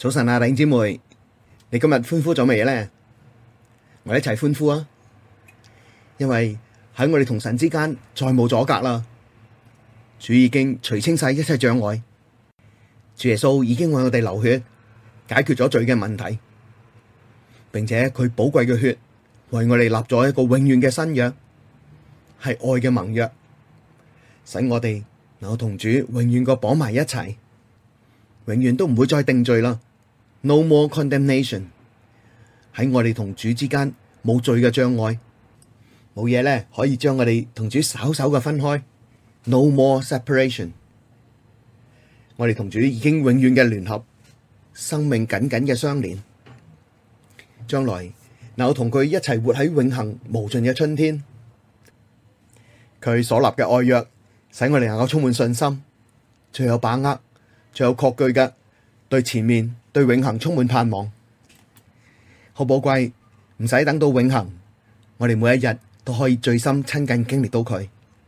早晨啊，弟兄姊妹，你今日歡呼咗未咧？我哋一齊歡呼啊！因為喺我哋同神之間再冇阻隔啦，主已經除清晒一切障礙，主耶穌已經為我哋流血，解決咗罪嘅問題，並且佢寶貴嘅血為我哋立咗一個永遠嘅新約，係愛嘅盟約，使我哋能夠同主永遠個綁埋一齊，永遠都唔會再定罪啦。No more condemnation， 喺我哋同主之間冇罪嘅障礙，冇嘢咧可以將我哋同主稍稍嘅分開。No more separation， 我哋同主已經永遠嘅聯合，生命緊緊嘅相連，將來能夠同佢一齊活喺永恆無盡嘅春天。佢所立嘅愛約，使我哋能夠充滿信心，最有把握，最有確據嘅，對前面對永恆充滿盼望，好寶貴，唔使等到永恆，我哋每一日都可以最深親近經歷到佢。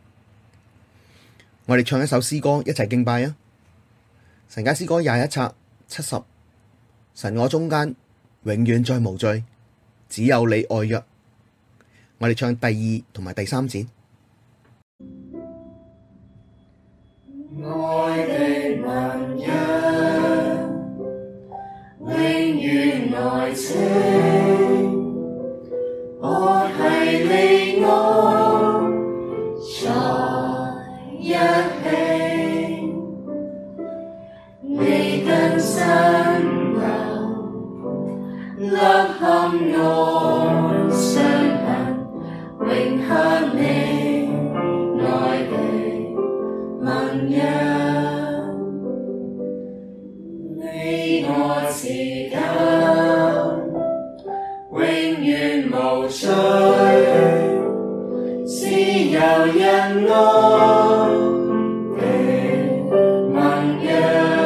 我哋唱一首詩歌，一齊敬拜啊！神家詩歌21冊70，神我中間永遠再無罪，只有你愛約。我哋唱第2同埋第3節。 愛的盟約，永遠愛情，我繫你我在一起，你跟深流，勒陷我傷痕，永享你愛的盟約，你我持久，永遠無罪，自由仁愛的盟約，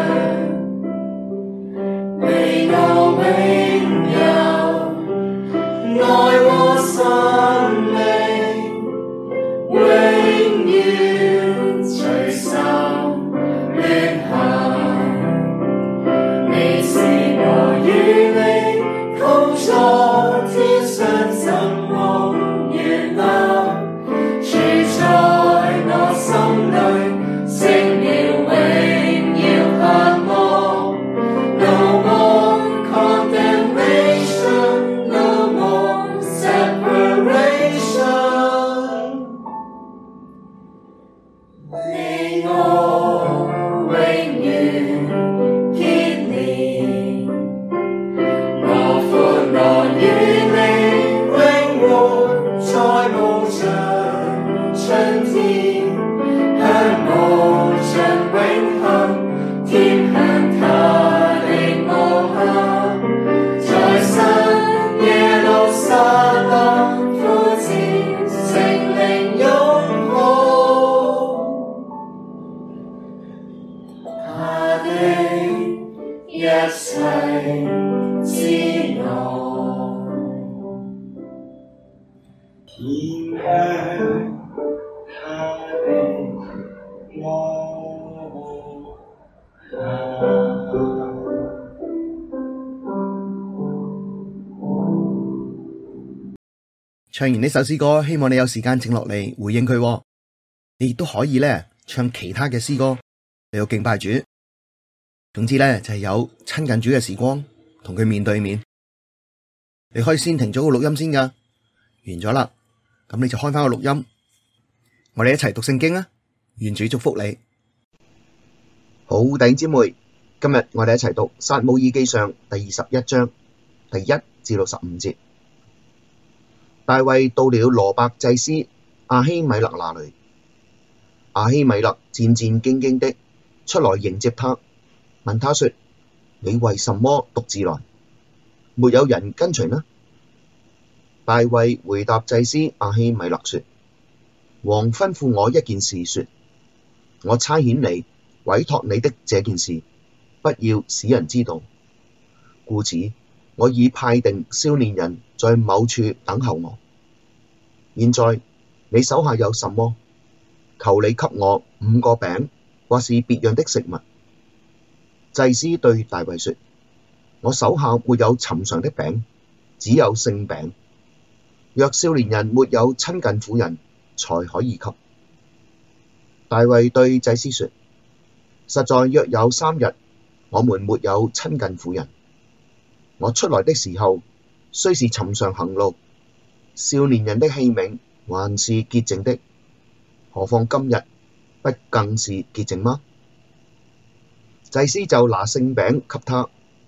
你我永有愛和生命，永遠隨心聯合。你是我與你同坐天上，怎蒙悅納，住在我心裡，成了榮耀盼望。No more condemnation, no more separation， 你我永遠結連，我歡樂與你永活在無盡春天，向無盡永恆，甜享他的無限，在新耶路撒冷呼召聖靈擁抱，他的一切之愛，甜享他的無限。 唱完呢首詩歌，希望你有時間靜落嚟回應佢。你亦都可以咧唱其他嘅詩歌，你要敬拜主。總之咧就係有親近主嘅時光，同佢面對面。你可以先停咗個錄音先噶，完咗啦，咁你就開翻個錄音，我哋一齊讀聖經啊！願主祝福你。好，弟兄姊妹，今日我哋一齊讀撒母耳記上第21章第1至15節。大衛到了羅伯祭司亞希米勒那裡，亞希米勒戰戰兢兢的出來迎接他，問他說：你為什麼獨自來？沒有人跟隨呢？大衛回答祭司亞希米勒說：王吩咐我一件事說，我差遣你委託你的這件事，不要使人知道。故此，我已派定少年人在某處等候我。現在你手下有什麼？求你給我5個餅，或是別樣的食物。祭司對大衛說： 我手下沒有尋常的餅，只有聖餅。若少年人沒有親近婦人，才可以給。大衛對祭司說：實在約有3日，我們沒有親近婦人。我出來的時候，雖是尋常行路，少年人的器皿還是潔淨的，何況今日不更是潔淨嗎？祭司就拿聖餅給他，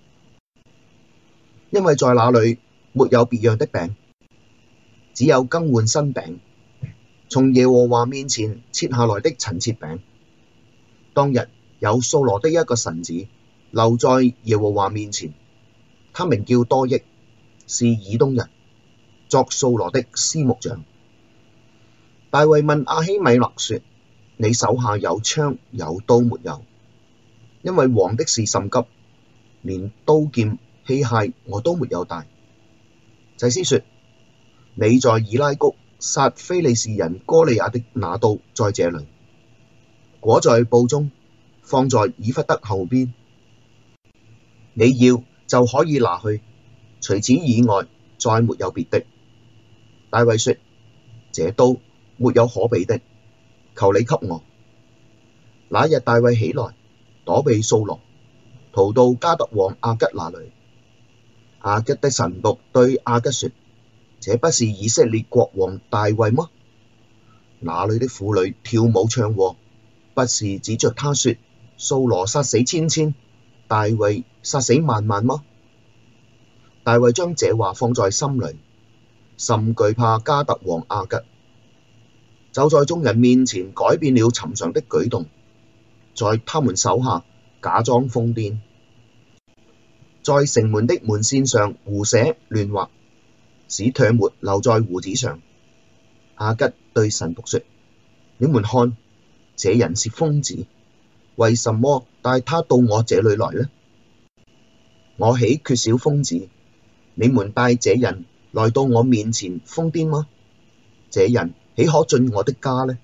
因為在那裡沒有別樣的餅，只有更換新餅，從耶和華面前切下來的陳設餅。當日有掃羅的一個臣子留在耶和華面前，他名叫多益，是以東人，作掃羅的司牧長。大衛問亞希米勒說：你手下有槍有刀沒有？因為王的事甚急，連刀劍器械我都沒有帶。祭司說：你在以拉谷殺非利士人哥利亞的那刀在這裡，裹在布中，放在以弗得後邊。你要就可以拿去，除此以外再沒有別的。大衛說：這刀沒有可比的，求你給我。那日大衛起來，躲避掃羅，逃到迦特王亞吉那裡。亞吉的臣僕對亞吉說：這不是以色列國王大衛嗎？那裡的婦女跳舞唱和，不是指着他說：掃羅殺死千千，大衛殺死萬萬嗎？大衛將這話放在心裡，甚懼怕迦特王亞吉，就在眾人面前改變了尋常的舉動，在他們手下假裝瘋癲，在城門的門扇上胡寫亂畫，使唾沫留在鬍子上。亞吉對臣僕說：你們看，這人是瘋子，為什麼帶他到我這裡來呢？我豈缺少瘋子？你們帶這人來到我面前瘋癲嗎？這人豈可進我的家呢？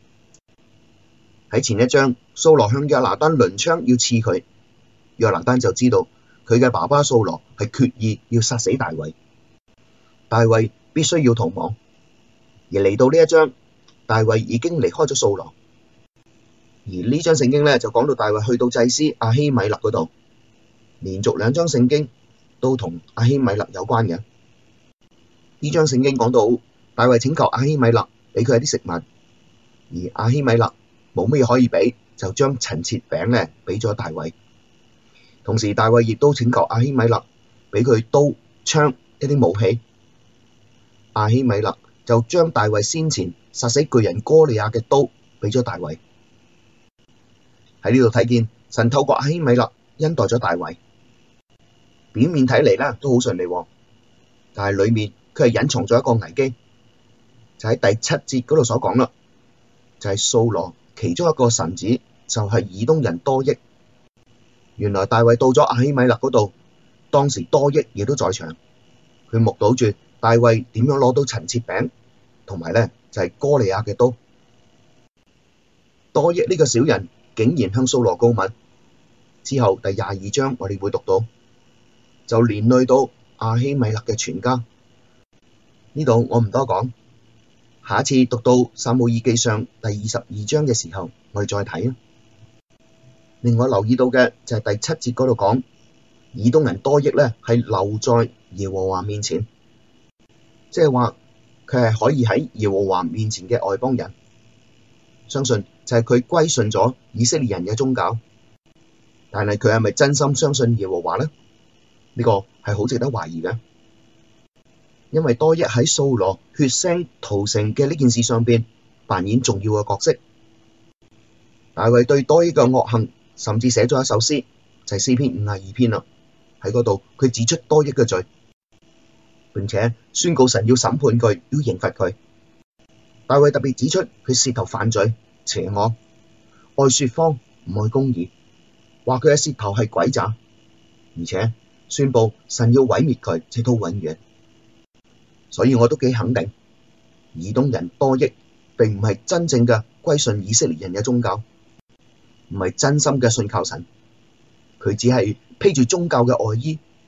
喺前一章，掃羅向約拿單掄槍要刺佢，約拿單就知道佢嘅爸爸掃羅係決意要殺死大衛，大衛必須要逃亡。而嚟到呢一章，大衛已經離開咗掃羅，而呢章聖經呢，就講到大衛去到祭司亞希米勒嗰度，連續2章聖經都同亞希米勒有關嘅。呢章聖經講到大衛請求亞希米勒俾佢一啲食物，而亞希米勒冇乜嘢可以俾，就將陳設餅呢俾咗大衛。同時大衛亦都請求亞希米勒俾佢刀、槍一啲武器。亞希米勒就將大衛先前殺死巨人哥利亞嘅刀俾咗大衛。喺呢度睇見神透過亞希米勒恩待咗大衛。表面睇嚟咧都好順利，但係裡面佢係隱藏咗一個危機，就喺第7節嗰度所講啦，就係掃羅其中一個臣子就係以東人多益。原來大衛到咗亞希米勒嗰度，當時多益亦都在場，佢目睹住大衛點樣攞到陳設餅，同埋咧就係哥利亞嘅刀。多益呢個小人竟然向掃羅告密，之後第22章我哋會讀到，就連累到亞希米勒嘅全家。呢度我唔多講，下一次讀到撒母耳記上第22章嘅時候，我哋再睇啊。另外留意到嘅就係第7節嗰度講，以東人多益咧係留在耶和華面前，即係話佢係可以喺耶和華面前嘅外邦人，相信就係佢歸順咗以色列人嘅宗教，但係佢係咪真心相信耶和華呢？呢個係好值得懷疑嘅，因為多益喺掃羅血腥屠城嘅呢件事上邊扮演重要嘅角色。大衛對多益嘅惡行甚至寫咗一首詩，就係詩篇52篇啦。喺嗰度佢指出多益嘅罪，並且宣告神要審判佢，要刑罰佢。大衛特別指出佢舌頭犯罪、邪惡、愛說謊、唔愛公義，話佢嘅舌頭係詭詐，而且宣布神要毀滅佢，直到永遠。所以我都幾肯定，以東人多益並唔係真正嘅歸順以色列人嘅宗教，唔係真心嘅信靠神，佢只係披住宗教嘅外衣，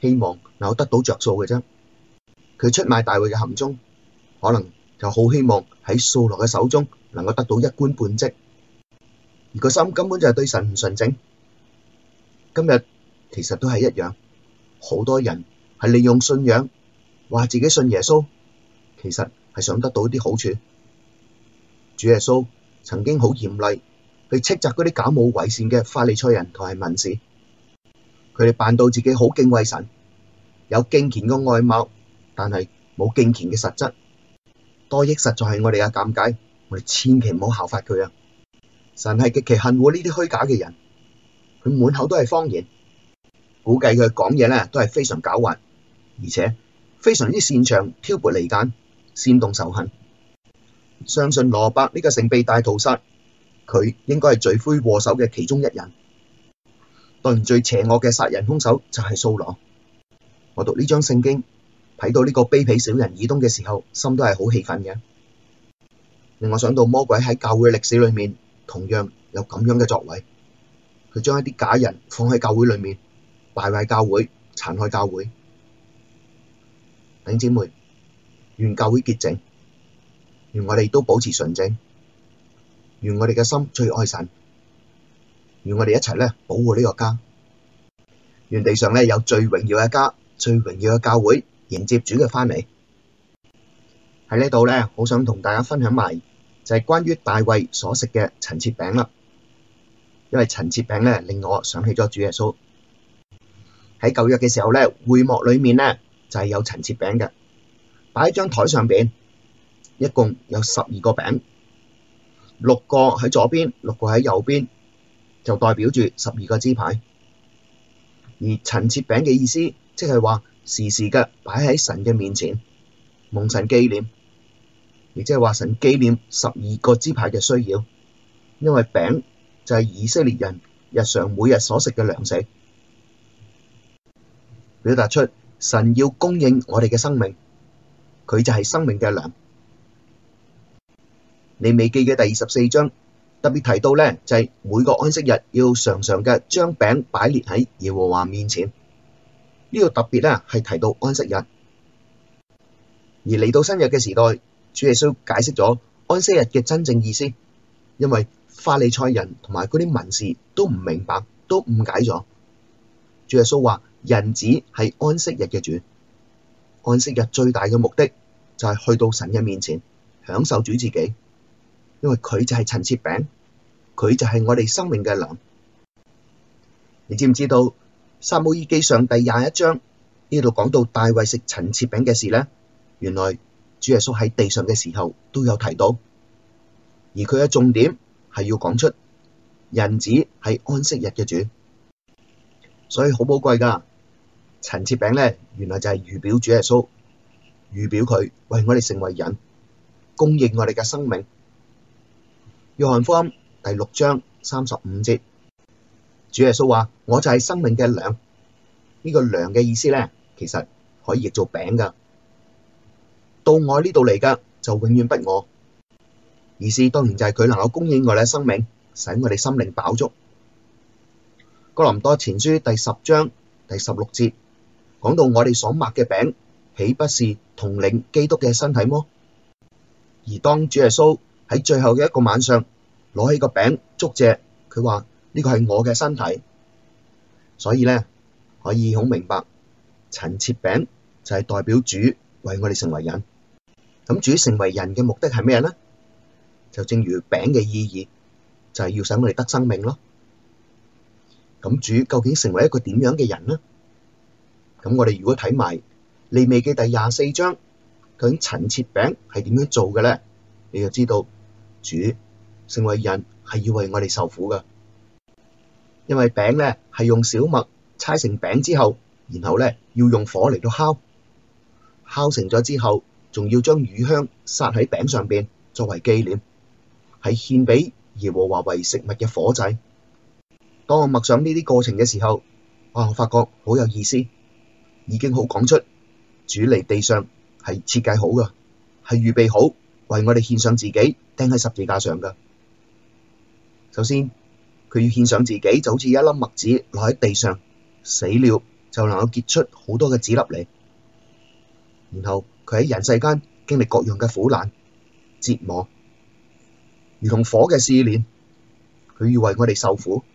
希望能夠得到着數嘅啫。佢出賣大衛嘅行蹤，可能就好希望喺掃羅嘅手中能夠得到一官半職，而個心根本就係對神唔純正。今日其實都係一樣，好多人係利用信仰話自己信耶穌，其實係想得到啲好處。主耶穌曾經好嚴厲去斥責嗰啲假冒為善嘅法利賽人同埋文士，佢哋扮到自己好敬畏神，有敬虔嘅外貌，但係冇敬虔嘅實質。多益實在係我哋嘅鑑戒，我哋千祈唔好效法佢啊！神係極其恨惡呢啲虛假嘅人，佢滿口都係謊言，估計佢講嘢咧都係非常狡猾，而且非常之擅長挑撥離間，煽動仇恨。相信羅伯呢個城被大屠殺，佢應該係罪魁禍首嘅其中一人。當然最邪惡嘅殺人兇手就係掃羅。我讀呢章聖經，睇到呢個卑鄙小人以東嘅時候，心都係好氣憤嘅，令我想到魔鬼喺教會歷史裏面同樣有咁樣嘅作為。佢將一啲假人放喺教會裏面，敗壞教會，殘害教會。弟兄姊妹，願教會潔淨，願我哋都保持純正，願我哋嘅心最愛神，願我哋一齊咧保護呢個家，願地上咧有最榮耀嘅家，最榮耀嘅教會，迎接主嘅返嚟。喺呢度咧，好想同大家分享埋就係關於大衛所食嘅陳設餅啦。因為陳設餅咧令我想起咗主耶穌喺舊約嘅時候咧，會幕裏面咧就係有陳設餅嘅，擺喺張台上邊，一共有12個餅，6個喺左邊，6個喺右邊，就代表住12個支派。而陳設餅嘅意思，即係話時時嘅擺喺神嘅面前，蒙神紀念，亦即係話神紀念12個支派嘅需要，因為餅就係以色列人日常每日所食嘅糧食，表達出神要供應我哋嘅生命，佢就係生命嘅糧。利未記嘅第24章特別提到咧，就係每個安息日要常常嘅將餅擺列喺耶和華面前。呢度特別咧係提到安息日，而嚟到新約嘅時代，主耶穌解釋咗安息日嘅真正意思，因為法利賽人同埋嗰啲文士都唔明白，都誤解咗。主耶穌話人子係安息日嘅主，安息日最大嘅目的就係去到神嘅面前享受主自己，因為佢就係陳設餅，佢就係我哋生命嘅糧。你知唔知道撒母耳記上第21章呢度講到大衛食陳設餅嘅事呢？原來主耶穌喺地上嘅時候都有提到，而佢嘅重點係要講出人子係安息日嘅主，所以好寶貴噶。陳設餅咧，原來就係預表主耶穌，預表佢為我哋成為人，供應我哋嘅生命。約翰福音第6章35節，主耶穌話：我就係生命嘅糧。呢個糧嘅意思咧，其實可以譯做餅噶。到我呢度嚟噶，就永遠不餓。意思當然就係佢能夠供應我哋嘅生命，使我哋心靈飽足。哥林多前書第10章第16節講到我哋所擘嘅餅，豈不是同領基督嘅身體麼？而當主耶穌喺最後嘅一個晚上攞起個餅祝謝，佢話呢個係我嘅身體。所以咧可以好明白，陳設餅就係代表主為我哋成為人。咁主成為人嘅目的係咩咧？就正如餅嘅意義，就係要使我哋得生命咯。咁主究竟成為一個點樣嘅人呢？咁我哋如果睇埋利未記第24章，究竟陳設餅係點樣做嘅咧？你就知道主成為人係要為我哋受苦噶。因為餅咧係用小麥搓成餅之後，然後咧要用火嚟到烤，烤成咗之後，仲要將乳香撒喺餅上邊作為紀念，係獻俾耶和華為食物嘅火祭。當我默想呢啲過程嘅時候，我發覺好有意思，已經好講出主嚟地上係設計好噶，係預備好為我哋獻上自己釘喺十字架上噶。首先佢要獻上自己，就好似一粒麥子落喺地上死了， 就能夠結出好多嘅籽粒嚟。然後佢喺人世間經歷各樣嘅苦難、折磨，如同火嘅試煉，佢要為我哋受苦，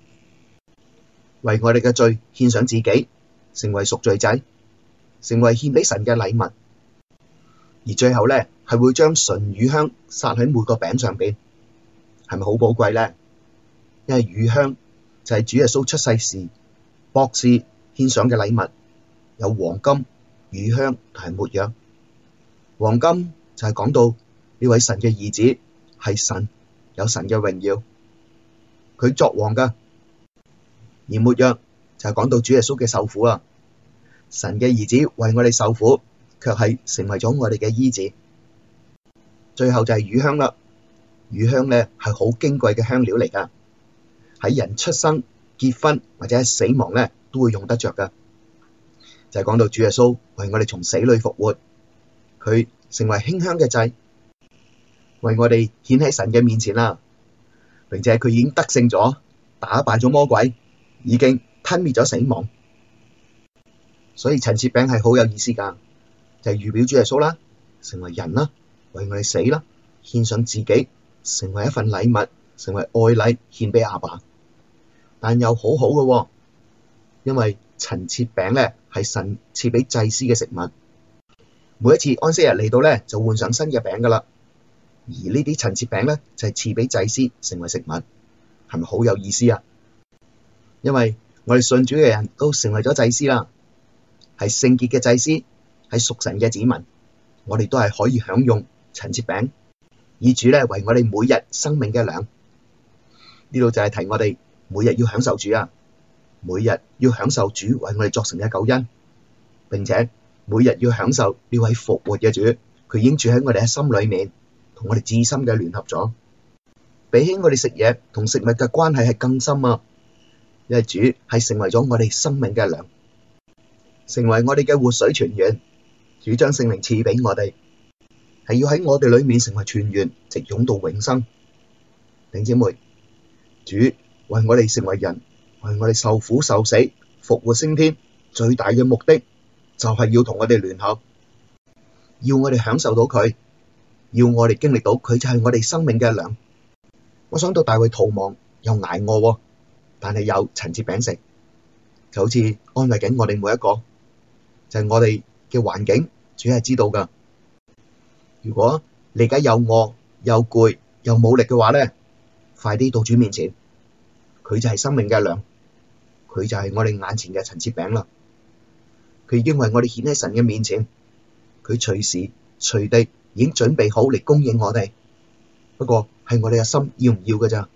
為我哋嘅罪獻上自己，成為贖罪祭，成為獻俾神嘅禮物。而最後咧，係會將純乳香撒喺每個餅上邊，係咪好寶貴咧？因為乳香就係主耶穌出世時博士獻上嘅禮物，有黃金、乳香同埋沒藥。黃金就係講到呢位神嘅兒子係神，有神嘅榮耀，佢作王噶。而沒藥就係講到主耶穌嘅受苦啊，神嘅兒子為我哋受苦，卻係成為咗我哋嘅醫治。最後就係乳香啦，乳香咧係好矜貴嘅香料嚟噶，喺人出生、結婚或者死亡咧都會用得着噶。就係講到主耶穌為我哋從死裏復活，佢成為馨香嘅祭，為我哋顯喺神嘅面前啦，並且佢已經得勝咗，打敗咗魔鬼，已經吞滅咗死亡。所以陳設餅係好有意思噶，就係預表主耶穌啦，成為人啦，為我哋死啦，獻上自己，成為一份禮物，成為愛禮獻俾阿爸。但又好好嘅，因為陳設餅咧係神賜俾祭司嘅食物，每一次安息日嚟到咧就換上新嘅餅噶啦。而呢啲陳設餅咧就係賜俾祭司成為食物，係咪好有意思啊？因為我哋信主嘅人都成為咗祭司啦，係聖潔嘅祭司，係屬神嘅子民，我哋都係可以享用陳設餅，以主咧為我哋每日生命嘅糧。呢度就係提我哋每日要享受主啊，每日要享受主為我哋作成嘅救恩，並且每日要享受呢位復活嘅主，佢已經住喺我哋嘅心裏面，同我哋至深嘅聯合咗。比起我哋食嘢同食物嘅關係係更深啊，因為主係成為咗我哋生命嘅糧，成為我哋嘅活水泉源。主將聖靈賜俾我哋，係要喺我哋裏面成為泉源，直湧到永生。弟兄姊妹，主為我哋成為人，為我哋受苦受死、復活升天，最大嘅目的就係要同我哋聯合，要我哋享受到佢，要我哋經歷到佢就係我哋生命嘅糧。我想到大衛逃亡又捱餓，但係有陳設餅食，就好似安慰緊我哋每一個，就係我哋嘅環境，主係知道噶。如果你而家又餓又攰又冇力嘅話咧，快啲到主面前，佢就係生命嘅糧，佢就係我哋眼前嘅陳設餅啦。佢已經為我哋顯喺神嘅面前，佢隨時隨地已經準備好嚟供應我哋，不過係我哋嘅心要唔要㗎咋。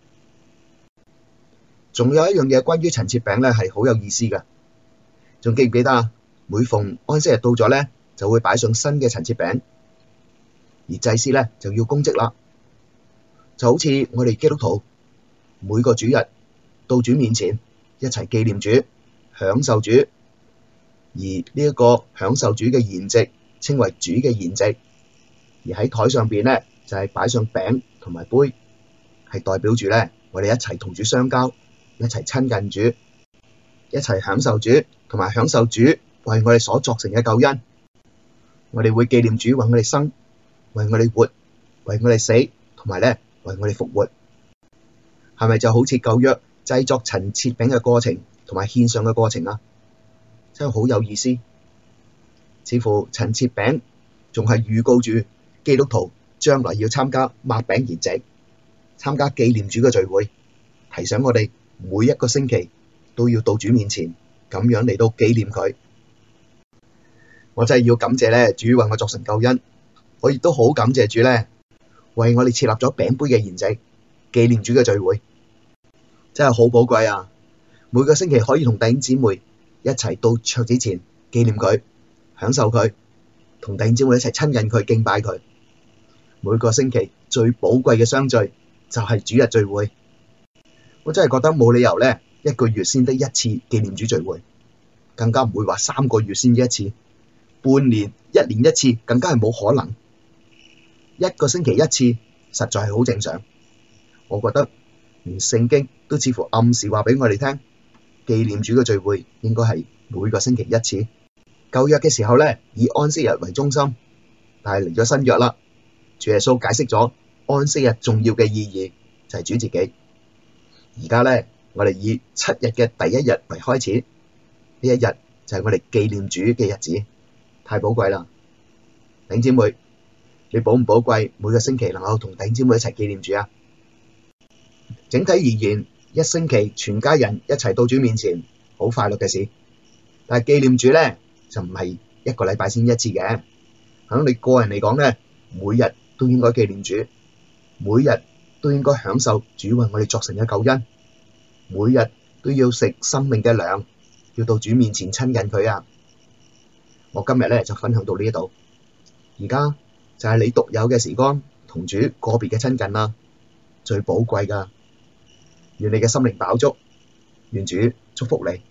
仲有一樣嘢關於陳設餅咧係好有意思噶，仲記唔記得啊？每逢安息日到咗咧，就會擺上新嘅陳設餅，而祭司咧就要供職啦。就好似我哋基督徒每個主日到主面前一齊紀念主、享受主，而呢一個享受主嘅筵席稱為主嘅筵席，而喺台上邊咧就係擺上餅同埋杯，係代表住咧我哋一齊同主相交，一齊親近主，一齊享受主，同埋享受主為我哋所作成嘅救恩。我哋會紀念主為我哋生，為我哋活，為我哋死，同埋咧為我哋復活。係咪就好似舊約製作陳設餅嘅過程同埋獻上嘅過程啊？真係好有意思。似乎陳設餅仲係預告住基督徒將來要參加擘餅筵席，參加紀念主嘅聚會，提醒我哋每一個星期都要到主面前，咁樣嚟到紀念佢。我真係要感謝咧，主為我作成救恩。我亦都好感謝主咧，為我哋設立咗餅杯嘅筵席，紀念主嘅聚會，真係好寶貴啊！每個星期可以同弟兄姊妹一齊到桌子前紀念佢，享受佢，同弟兄姊妹一齊親近佢、敬拜佢。每個星期最寶貴嘅相聚就係主日聚會。我真係覺得冇理由咧，一個月先得一次紀念主聚會，更加唔會話3個月先一次，半年、1年一次，更加係冇可能。一個星期一次，實在係好正常。我覺得連聖經都似乎暗示話俾我哋聽，紀念主嘅聚會應該係每個星期一次。舊約嘅時候咧，以安息日為中心，但係嚟咗新約啦，主耶穌解釋咗安息日重要嘅意義就係主自己。而家咧，我哋以7日嘅第一日為開始，呢一日就係我哋紀念主嘅日子，太寶貴啦！弟兄姊妹，你寶唔寶貴？每個星期能夠同弟兄姊妹一齊紀念主啊！整體而言，一星期全家人一齊到主面前，好快樂嘅事。但係紀念主咧，就唔係一個禮拜先一次嘅。響你個人嚟講咧，每日都應該紀念主，每日都應該享受主為我哋作成嘅救恩，每日都要食生命嘅糧，要到主面前親近佢啊！我今日咧就分享到呢度，而家就係你獨有嘅時光，同主個別嘅親近啦，最寶貴噶。願你嘅心靈飽足，願主祝福你。